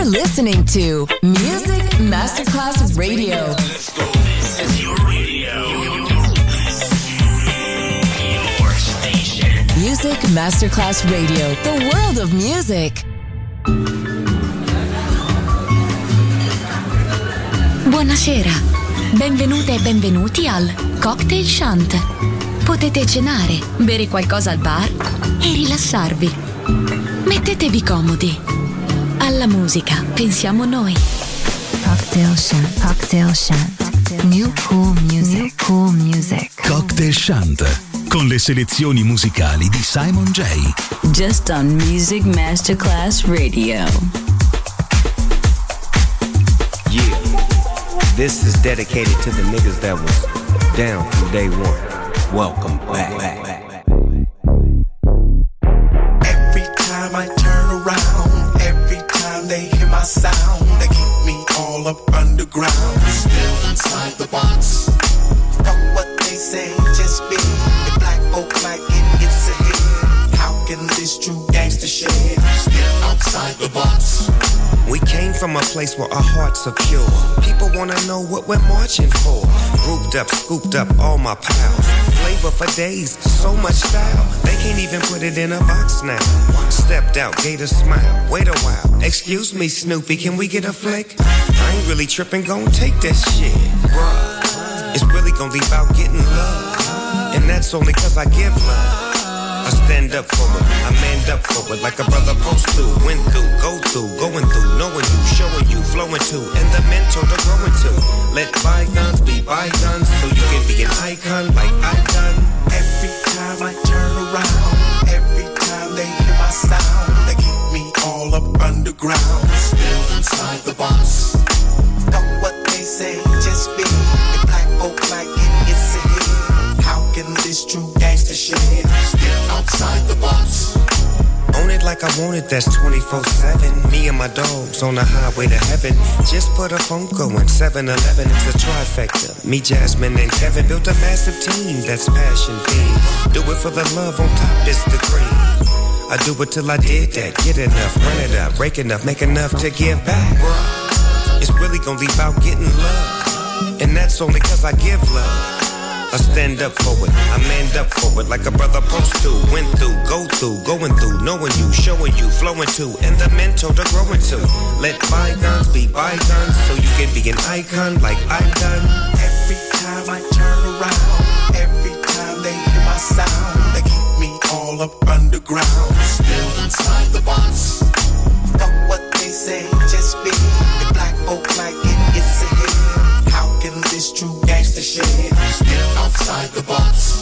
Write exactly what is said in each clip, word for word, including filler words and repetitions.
listening to Music Masterclass Radio. Let's go. This is your radio. Your station. Music Masterclass Radio. The world of music. Buonasera. Benvenute e benvenuti al Cocktail Shant. Potete cenare, bere qualcosa al bar e rilassarvi. Mettetevi comodi. Alla musica pensiamo noi. Cocktail Shant. Cocktail Shant. New cool music. New cool music. Cocktail Shant. Con le selezioni musicali di Simon J. Just on Music Masterclass Radio. Yeah. This is dedicated to the niggas that was down from day one. Welcome back. Every time I turn around, every time they hear my sound, they keep me all up underground, still inside the box. Fuck what they say, just be the black folk like it, it's a hit. How can this true gangster shit still outside the box? We came from a place where our hearts are pure. People wanna know what we're marching for. Grouped up, scooped up all my pals. Flavor for days, so much style. They can't even put it in a box now. Stepped out, gave a smile. Wait a while. Excuse me, Snoopy, can we get a flick? I ain't really tripping, gon' take that shit. Bruh, it's really gon' be about getting love. And that's only cause I give love. I stand up for it, I manned up for it like a brother supposed to. Went through, go through, going through, knowing you, showing you, flowing to, and the mentor to growing to. Let bygones be bygones so you can be an icon like I've done. Every time I turn around, every time they hear my sound, they keep me all up underground, still inside the box. Fuck what they say, just be the black folk like it, it's a hit. How can this true gangster shit still outside the box? Own it like I want it, that's twenty-four seven. Me and my dogs on the highway to heaven. Just put a phone going, seven eleven, it's a trifecta. Me, Jasmine, and Kevin built a massive team that's passion themed. Do it for the love, on top is the cream. I do it till I did that, get enough, run it up, break enough, make enough to give back. Bruh, it's really gonna be about getting love. And that's only cause I give love. I stand up for it, I manned up for it like a brother supposed to. Went through, go through, going through, knowing you, showing you, flowing to, and the mentor to growing to. Let bygones be bygones so you can be an icon like I've done. Every time I turn around, every time they hear my sound, they keep me all up underground, still inside the box. Fuck what they say, just be the black folk like it, it's a hit. How can this true gangster shit still outside the box?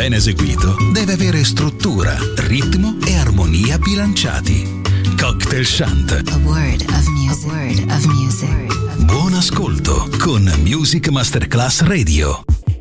ben eseguito deve avere struttura, ritmo e armonia bilanciati. Cocktail Chant. A word of music. A word of music. Buon ascolto con Music Masterclass Radio.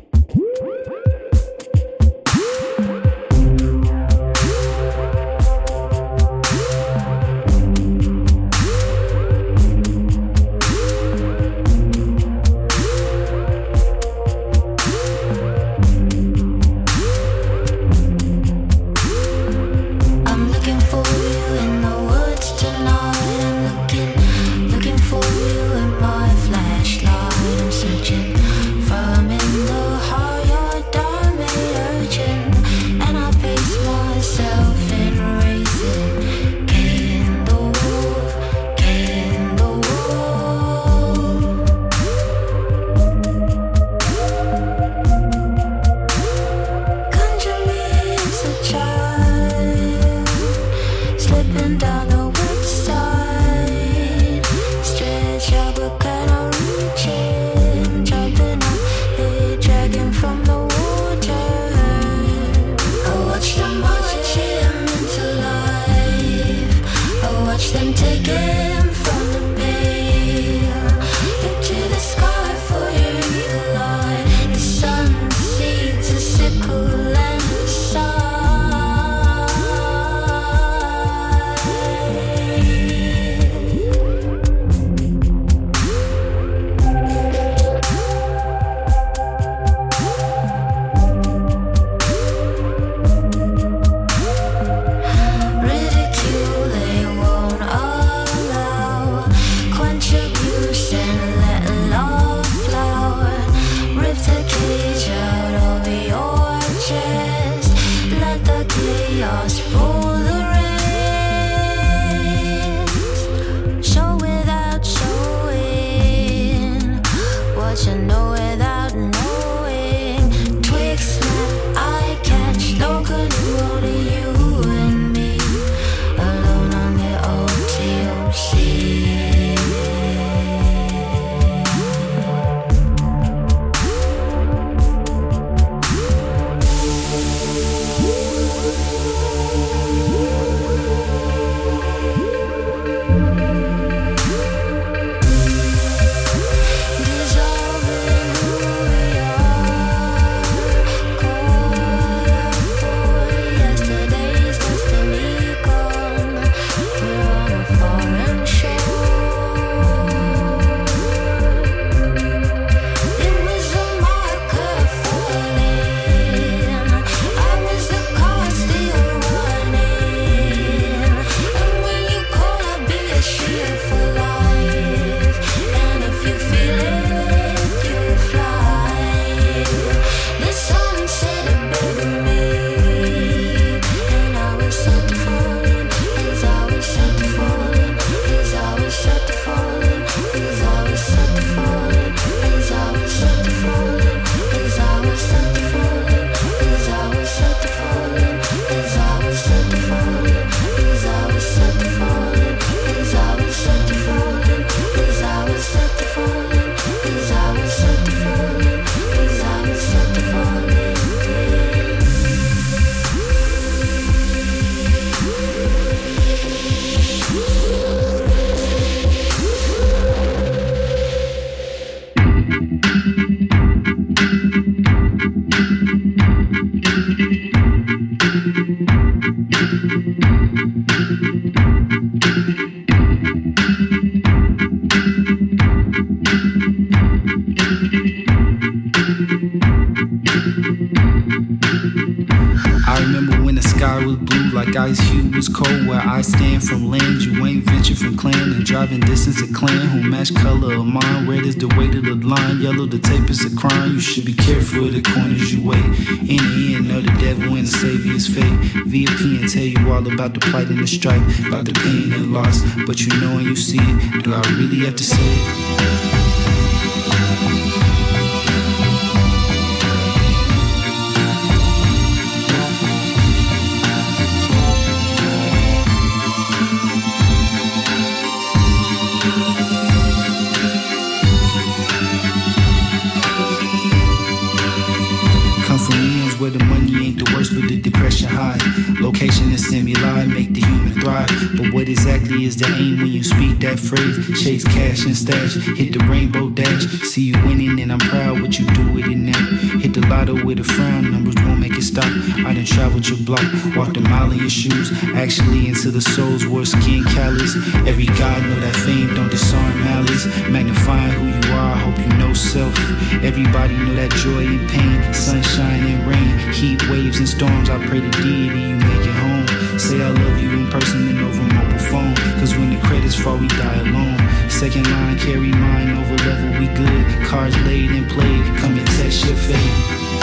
Ice hue was cold where I stand from land. You ain't ventured from clan and driving distance a clan who match color of mine. Red is the weight of the line, yellow the tape is a crime. You should be careful of the corners you wait. In the end, know the devil and the savior's fate. V I P and tell you all about the plight and the strife, about the pain and loss. But you know when you see it, do I really have to say it? Where the money ain't the stimuli make the human thrive. But what exactly is the aim when you speak that phrase? Chase cash and stash, hit the rainbow dash. See you winning and I'm proud what you do with it now. Hit the lotto with a frown, numbers won't make it stop. I done traveled your block, walked a mile in your shoes. Actually into the soul's worst skin callous. Every god know that fame don't disarm malice. Magnifying who you are, hope you know self. Everybody know that joy and pain, sunshine and rain, heat waves and storms. I pray to deity you make it home. Say I love you in person and over mobile phone. Cause when the credits fall we die alone. Second line carry mine over level we good. Cards laid and played, come and test your fate.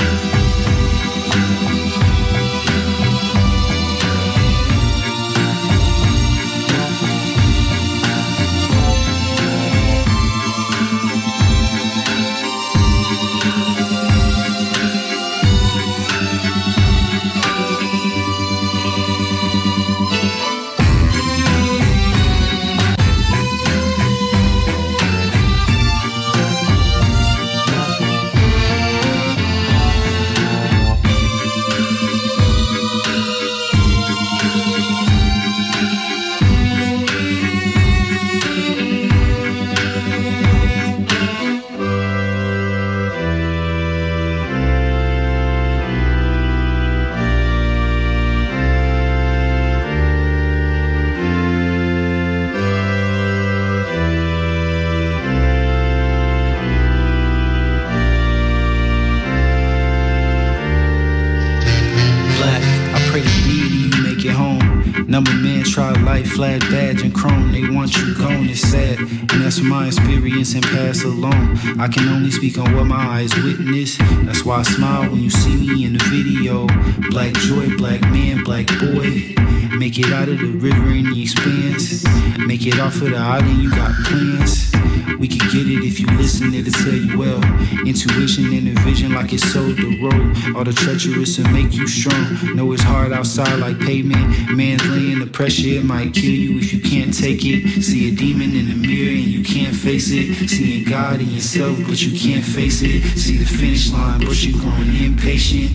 Flat badge and chrome, they want you gone, it's sad. And that's my experience and pass along. I can only speak on what my eyes witness. That's why I smile when you see me in the video. Black joy, black man, black boy. Make it out of the river in the expanse. Make it off of the island, you got plans. We can get it if you listen, it'll tell you well. Intuition and a vision like it's sold the road. All the treacherous will make you strong. Know it's hard outside like pavement. Man's laying the pressure, it might kill you if you can't take it. See a demon in the mirror and you can't face it. Seeing God in yourself but you can't face it. See the finish line but you growing impatient.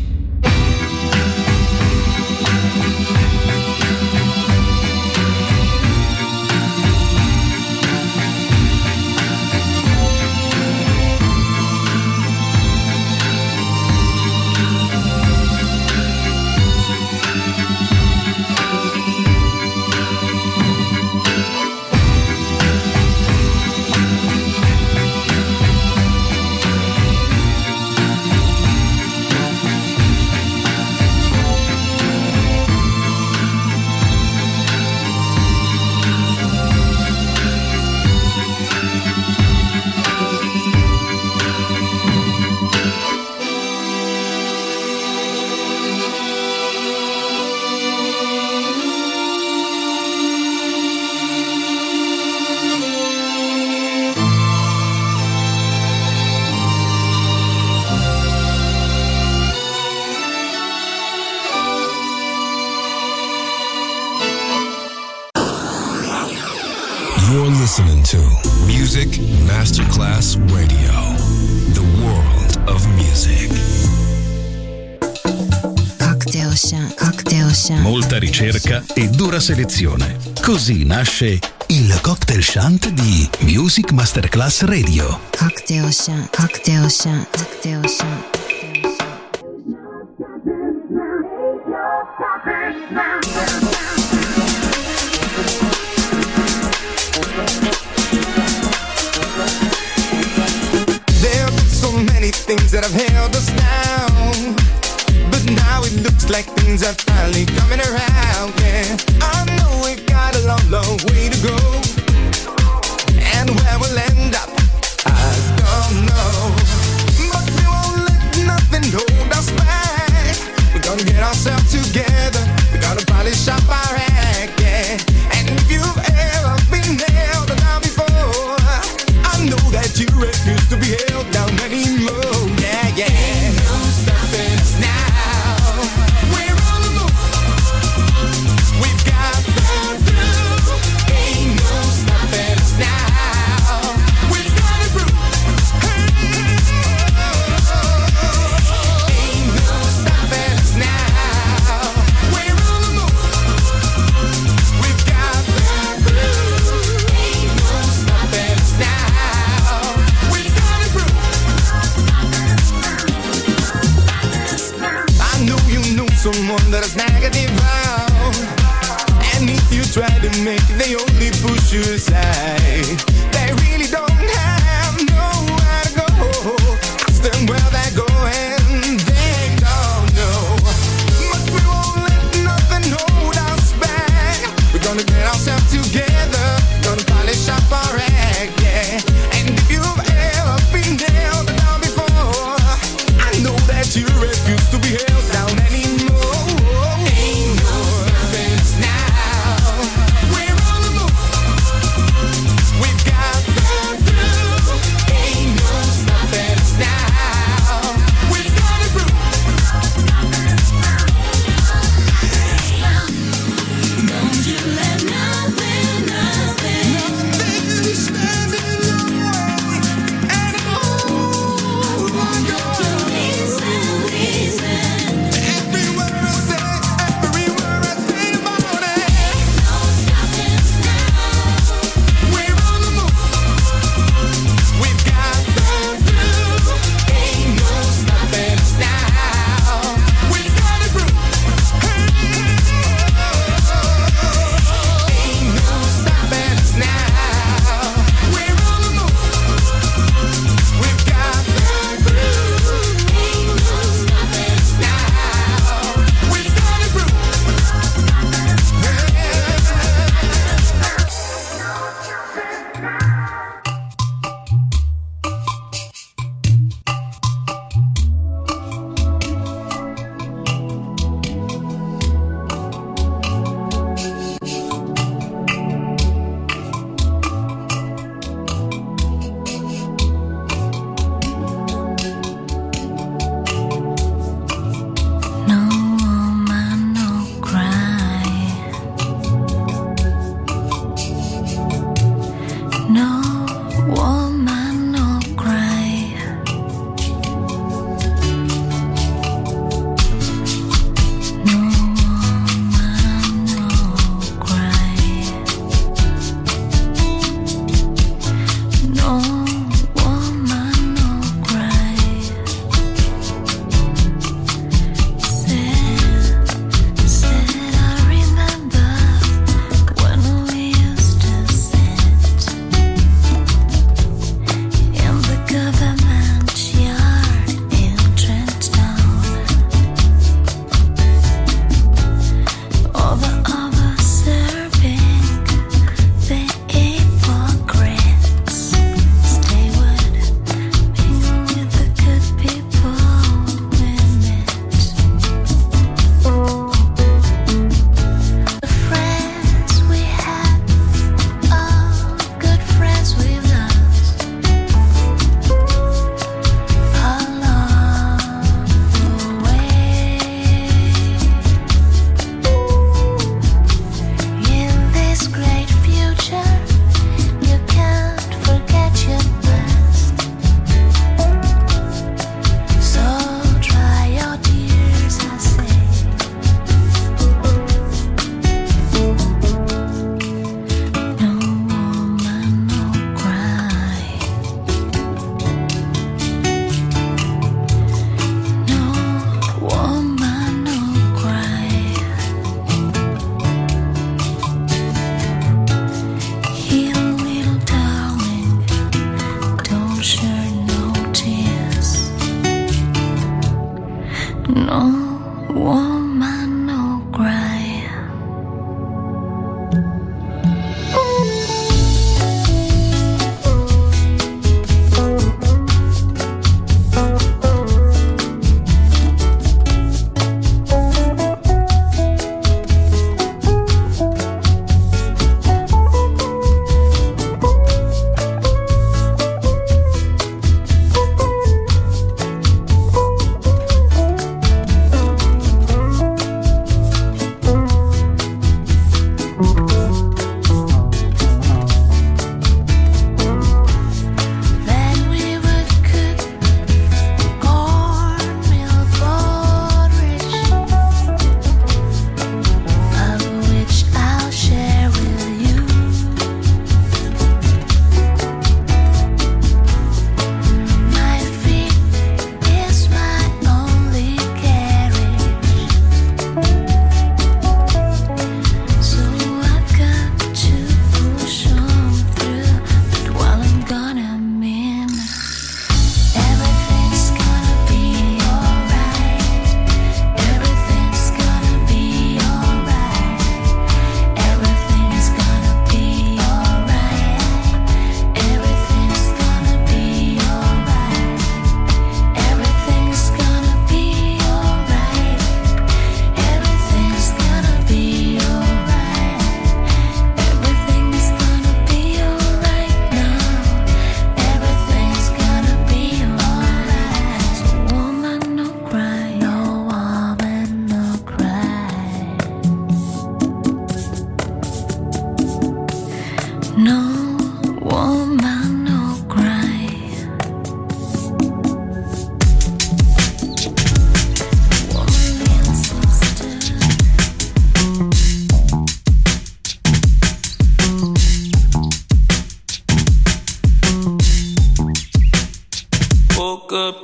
Listening to Music Masterclass Radio, the world of music. Cocktail Shant, Cocktail Shant. Molta ricerca e dura selezione. Così nasce il Cocktail Shant di Music Masterclass Radio. Cocktail Shant, Cocktail Shant, Cocktail Shant. Things that have held us down, but now it looks like things are finally coming around, yeah. I know we've got a long, long way to go, and where we'll end up, I don't know, but we won't let nothing hold us back. We're gonna get ourselves together, we're gonna polish up our act, yeah. And if you've ever been held down before, I know that you refuse to be held down anymore. Yeah, yeah. Ain't no stopping us now. We're on the move. make it, they only push you aside. They really don't have nowhere to go. Ask them where they're going, they don't know. But we won't let nothing hold us back. We're gonna get ourselves together, gonna polish up our act, yeah. And if you've ever been nailed down before, I know that you refuse to be held down anymore. Ain't no stopping us now. We're on the move.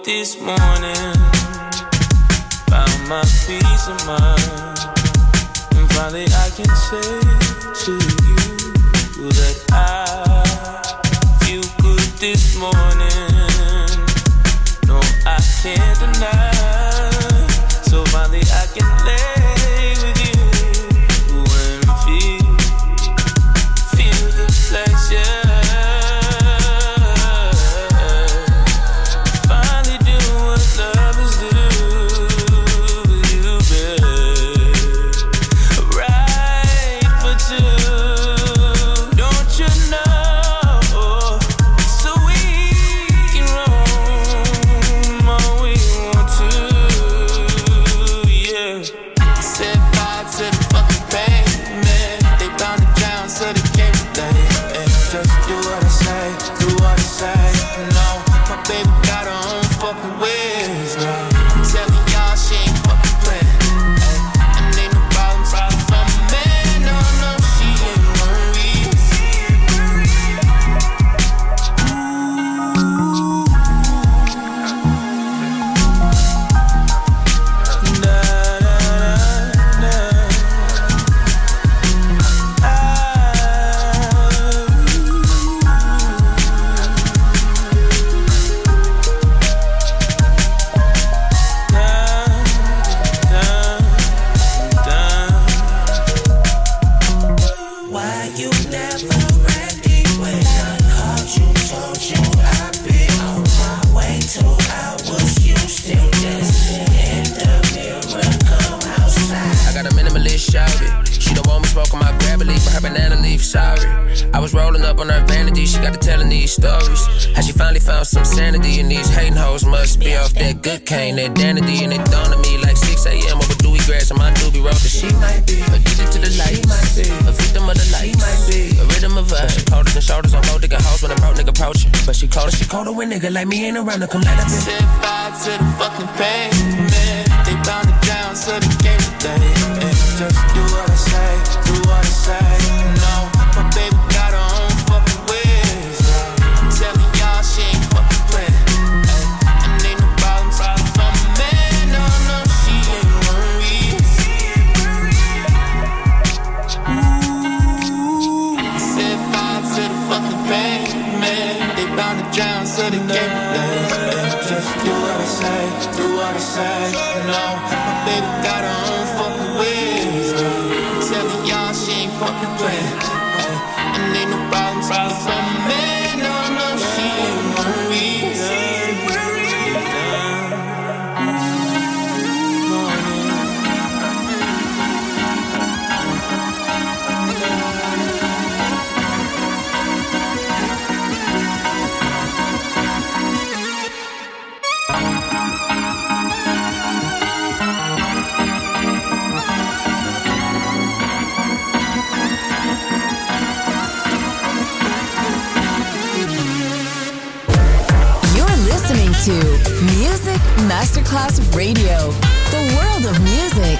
this morning. Found my peace of mind. And finally I can say to you that I feel good this morning. No, I can't deny. So finally I can lay with you and feel, feel the pleasure. Finally do what lovers do with you, babe. Right for two, don't you know? So we can roam all we want to. Set fire to the fucking pavement. They bound to drown, so they can't relate. Just do what I say, do what I say. No, my baby got her own fucking ways. I'm telling y'all she ain't fucking playing. And ain't no problem, problem from a man. No, no, she ain't worried. I was rolling up on her vanity, she got to telling these stories. How she finally found some sanity, and these hating hoes must be off that good cane, that danity. And it dawned on me like six a.m. over dewy grass on my doobie road. That she might be addicted to the lights, a victim of the lights, a rhythm of her. She cold in the shoulders on both nigga house when a broke nigga approach her. But she colder, she colder when nigga like me ain't around to come let her set fire to the fucking pavement. They bound to drown, so they can't relate. Just do what I say, do what I say. No, my baby got her own fucking ways. I'm telling y'all she ain't fucking playing. And ain't no problem, problem from a man. No, no, she ain't worried. Set fire to the fucking pavement. They bound to drown, so they can't relate. Just do what I say, do what I say. No, my baby got her own fucking ways. I'm telling y'all she ain't fucking playing. And ain't no problem, problem from a man. No, no, she ain't worried. To Music Masterclass Radio, the world of music.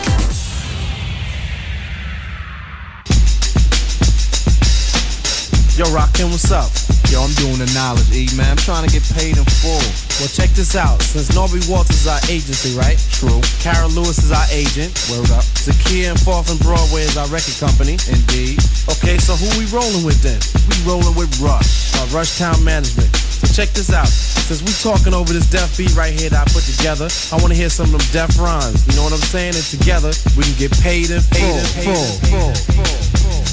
Yo, Rockin', what's up? Yo, I'm doing the knowledge, E, man. I'm trying to get paid in full. Well, check this out. Since Norby Walters is our agency, right? True. Carol Lewis is our agent. Word up. Zakia and Fourth and Broadway is our record company. Indeed. Okay, so who we rolling with then? We rolling with Rush, uh, Rush Town Management. So check this out. Since we talking over this deaf beat right here that I put together, I want to hear some of them deaf rhymes. You know what I'm saying? And together, we can get paid in full. Paid in full. full. full. full.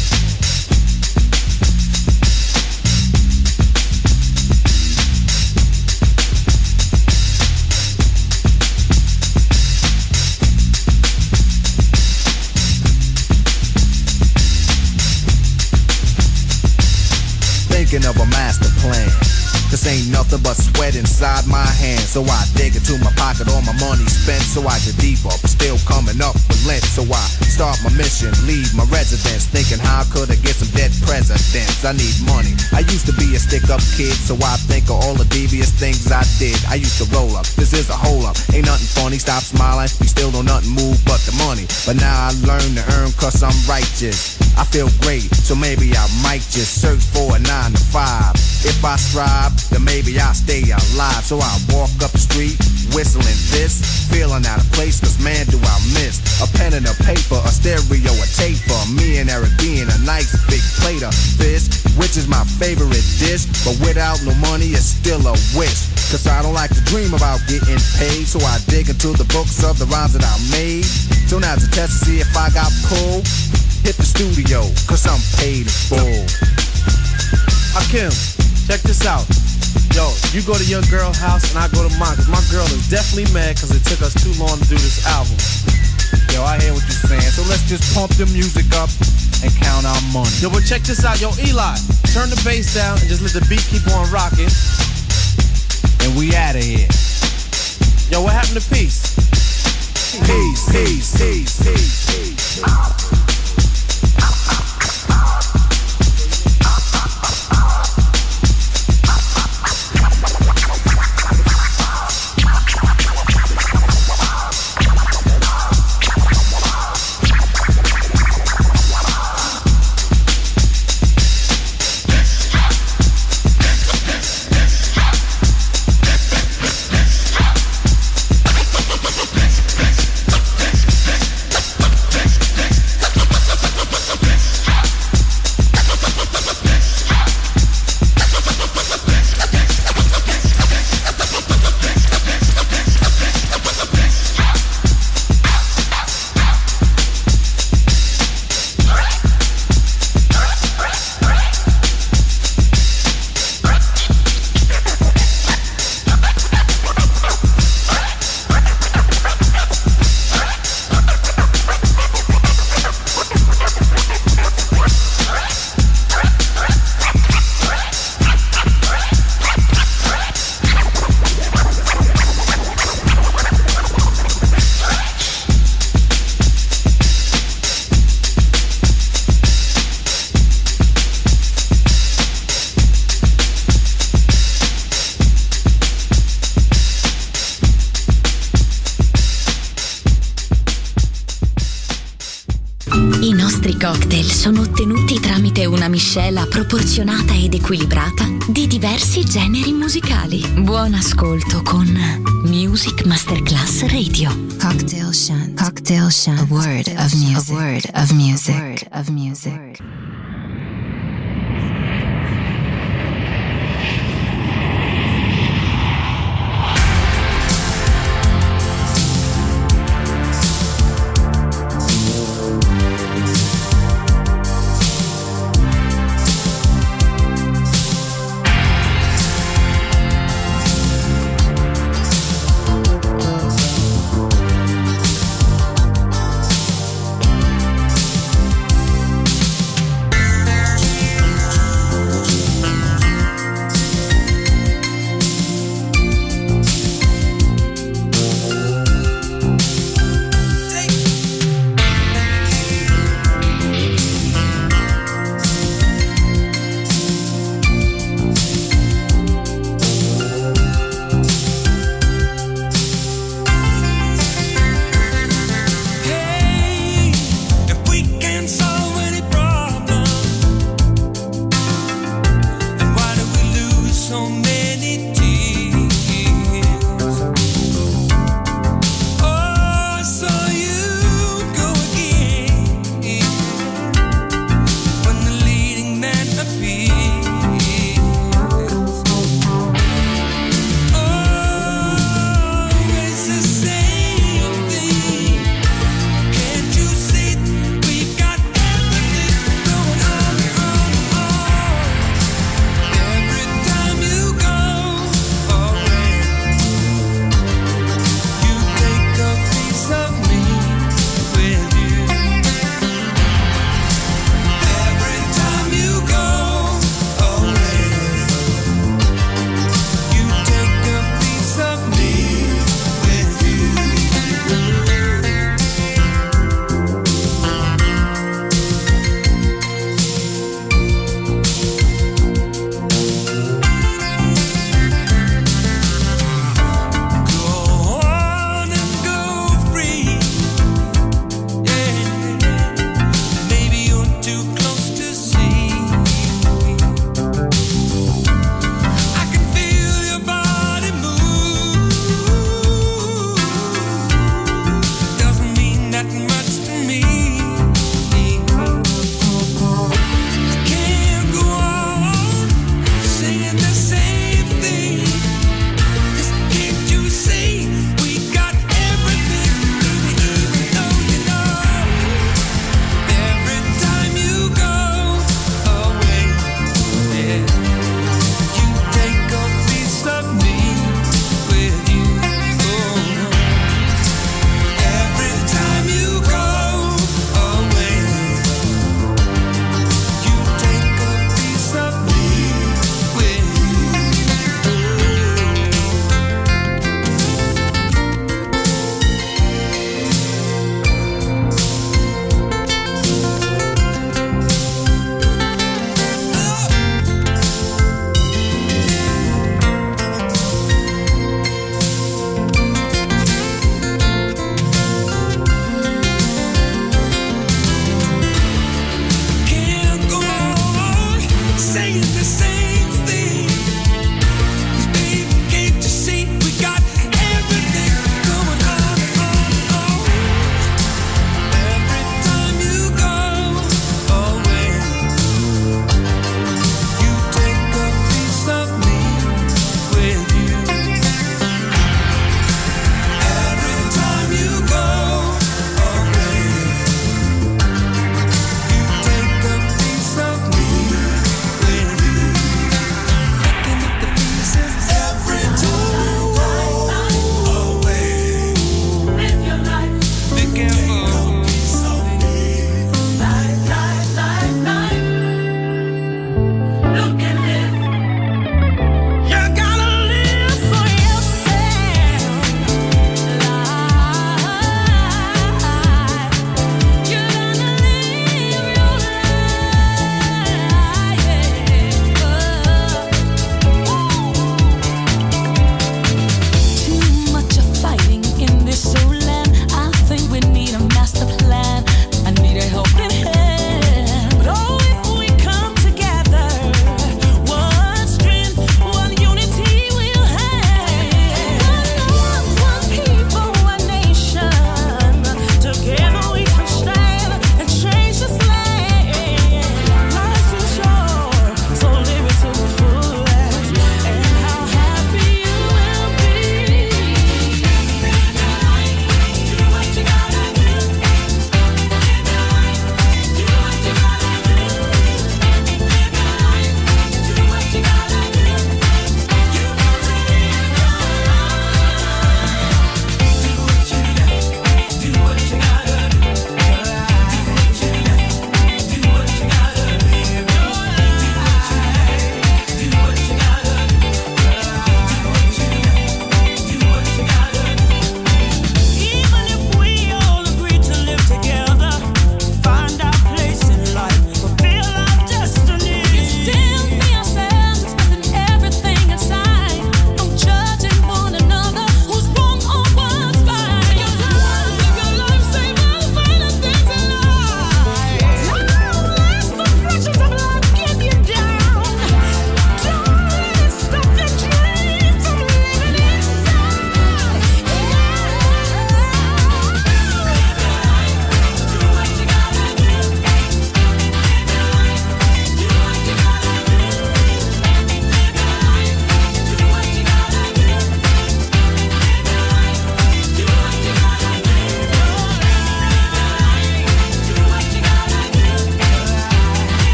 Thinking of a master plan, cause ain't nothing but sweat inside my hands. So I dig into my pocket, all my money spent. So I get deeper, but still coming up with lint. So I start my mission, leave my residence, thinking how could I get some dead presidents. I need money. I used to be a stick-up kid, so I think of all the devious things I did. I used to roll up, this is a hole up. Ain't nothing funny, stop smiling. We still don't nothing move but the money. But now I learn to earn cause I'm righteous. I feel great, so maybe I might just search for a nine to five. If I strive, then maybe I'll stay alive. So I walk up the street, whistling this, feeling out of place, cause man do I miss a pen and a paper, a stereo, a tape for me and Eric being a nice big plate of fish, which is my favorite dish. But without no money, it's still a wish. Cause I don't like to dream about getting paid, so I dig into the books of the rhymes that I made. So now's a test to see if I got pulled. Hit the studio, cause I'm paid in full. Hakim, check this out. Yo, you go to your girl house and I go to mine, cause my girl is definitely mad cause it took us too long to do this album. Yo, I hear what you're saying, so let's just pump the music up and count our money. Yo, but check this out. Yo, Eli, turn the bass down and just let the beat keep on rocking. And we outta here. Yo, what happened to peace? Peace, peace, peace, peace, peace. Cocktail sono ottenuti tramite una miscela proporzionata ed equilibrata di diversi generi musicali. Buon ascolto con Music Masterclass Radio. Cocktail Shant. Cocktail Shant. A word of music. A word of music. A word of music.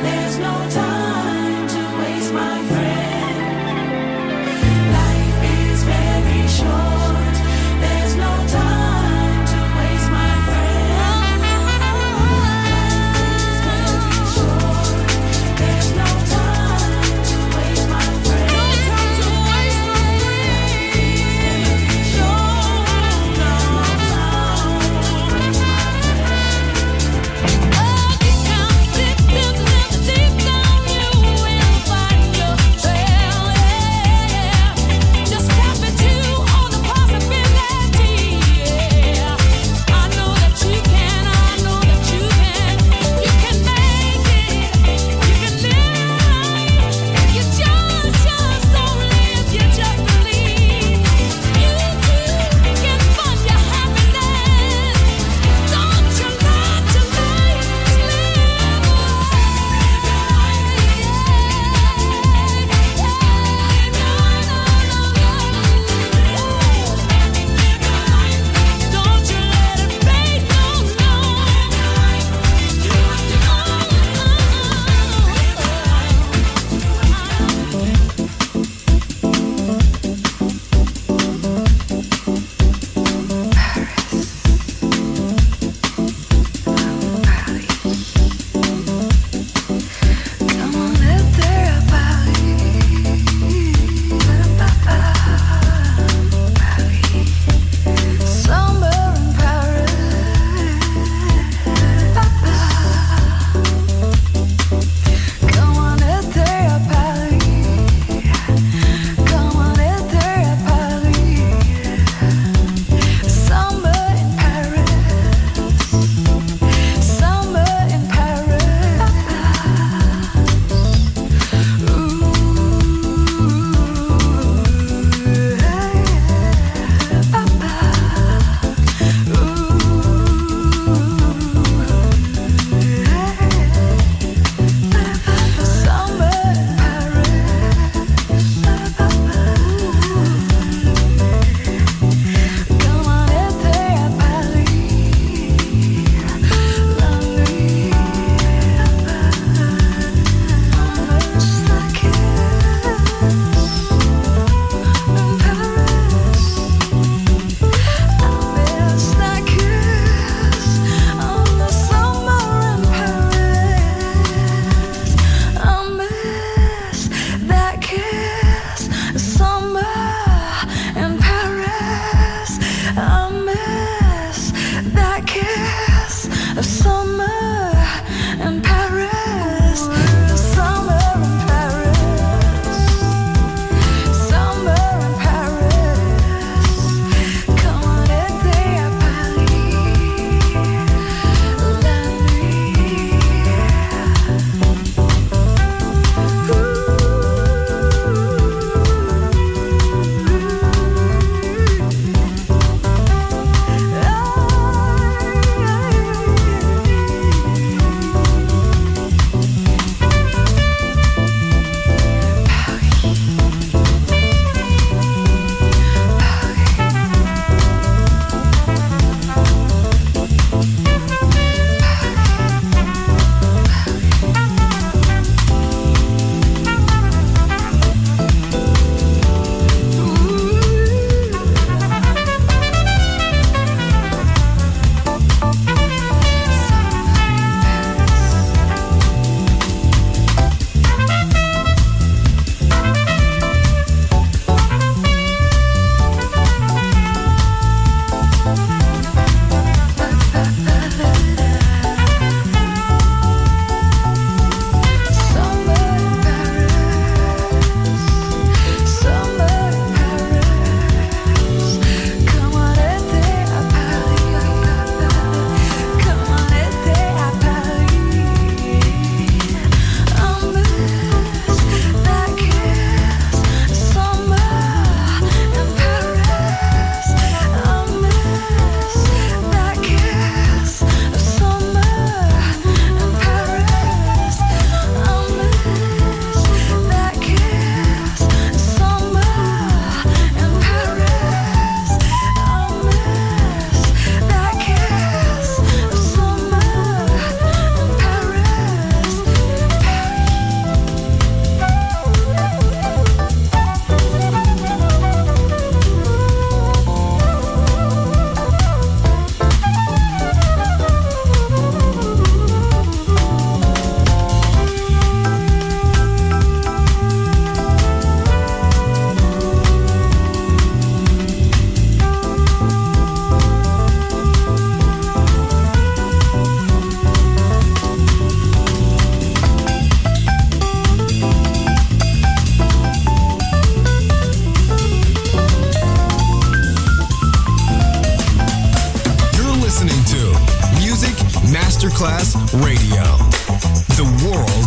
Deep down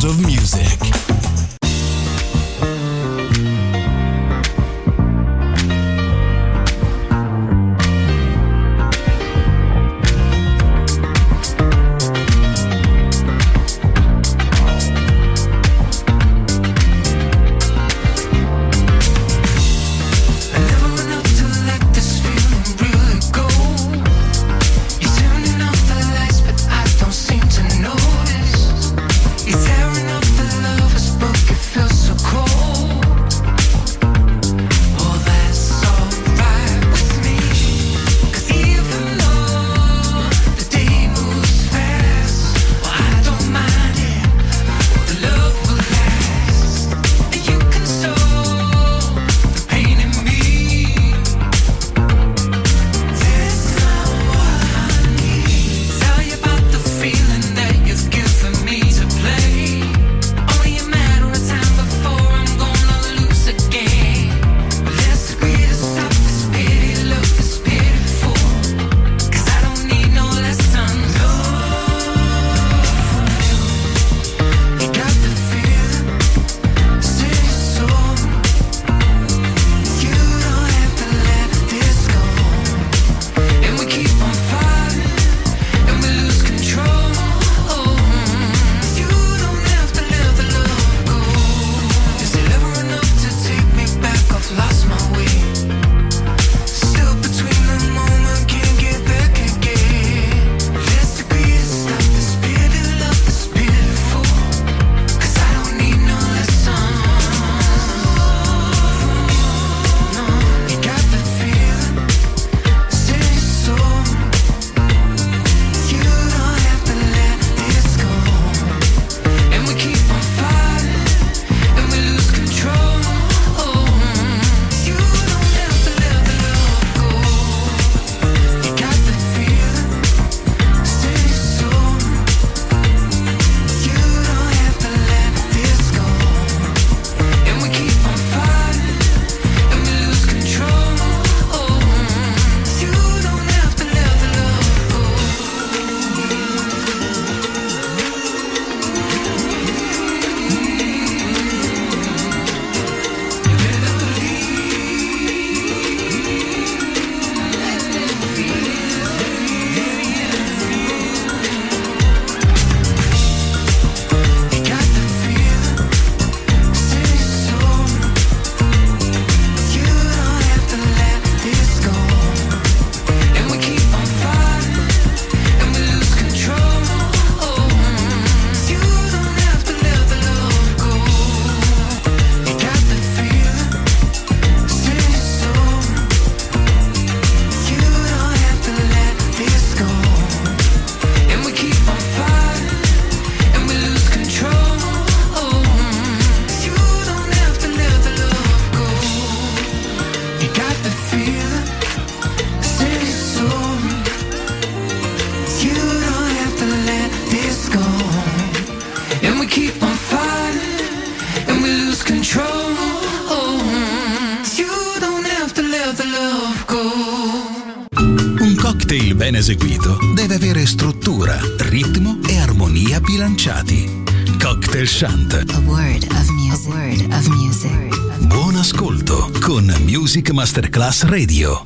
of music. cocktail ben eseguito deve avere struttura, ritmo e armonia bilanciati. Cocktail Shant. A word of music. A word of music. Buon ascolto con Music Masterclass Radio.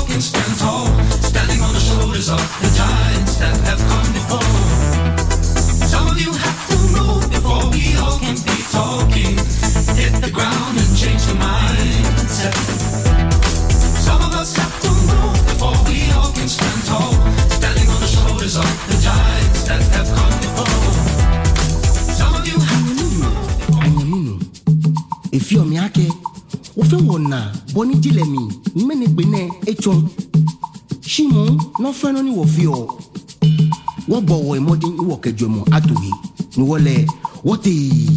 can stand tall, standing on the shoulders of the giants that have come before. Some of you have to move before we all can be talking. Hit the ground and change the mindset. Some of us have to move before we all can stand tall, standing on the shoulders of the giants that have come before. Some of you have to move. Anyamino, if you're Miake, Ofe wona, boni dilemi, mene bene echon. Shimon, no friend only of you. What boy modin you walk a jomo atohi. Nuole, what is.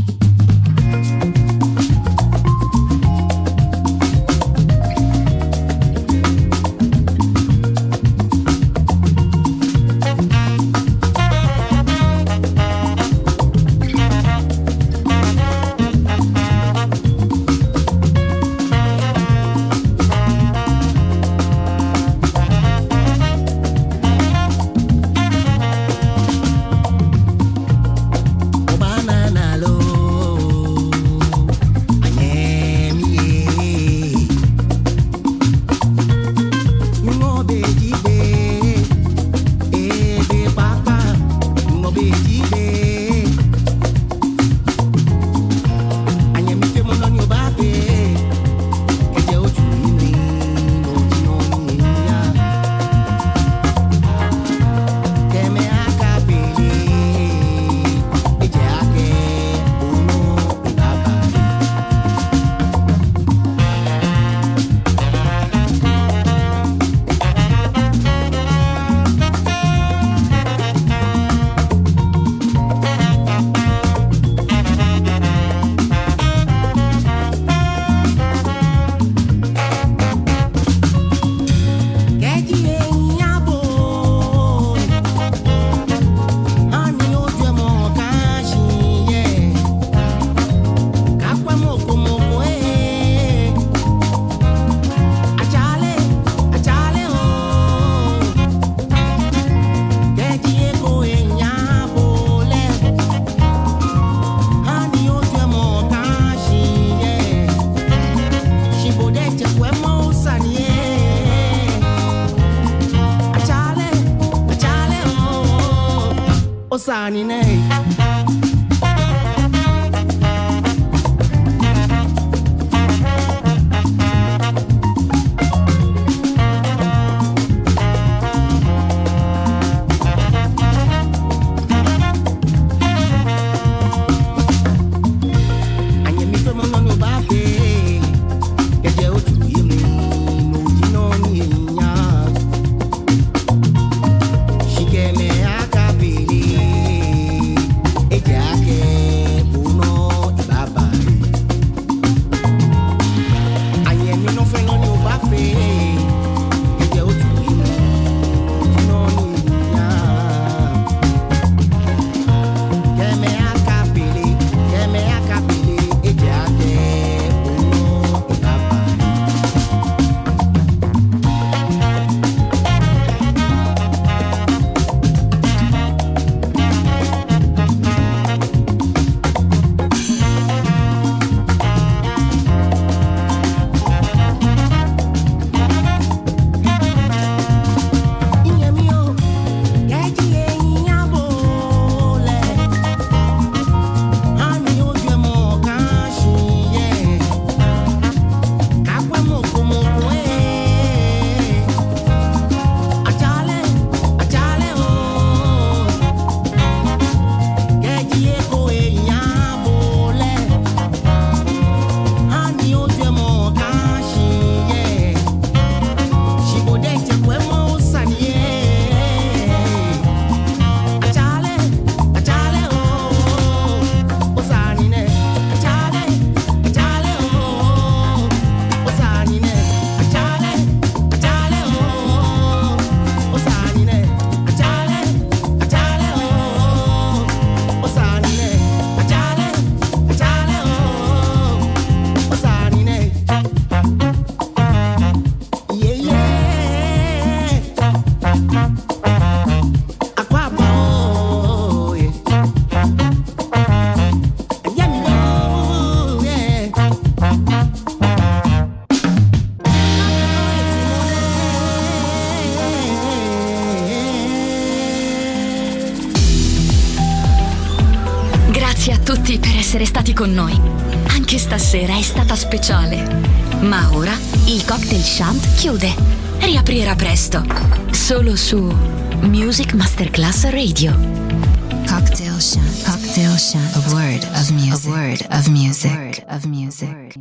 Osani nei. essere stati con noi. Anche stasera è stata speciale. Ma ora il Cocktail Shant chiude. Riaprirà presto. Solo su Music Masterclass Radio. Cocktail Shant. Cocktail Shant. A word of music. A word of music. A word of music.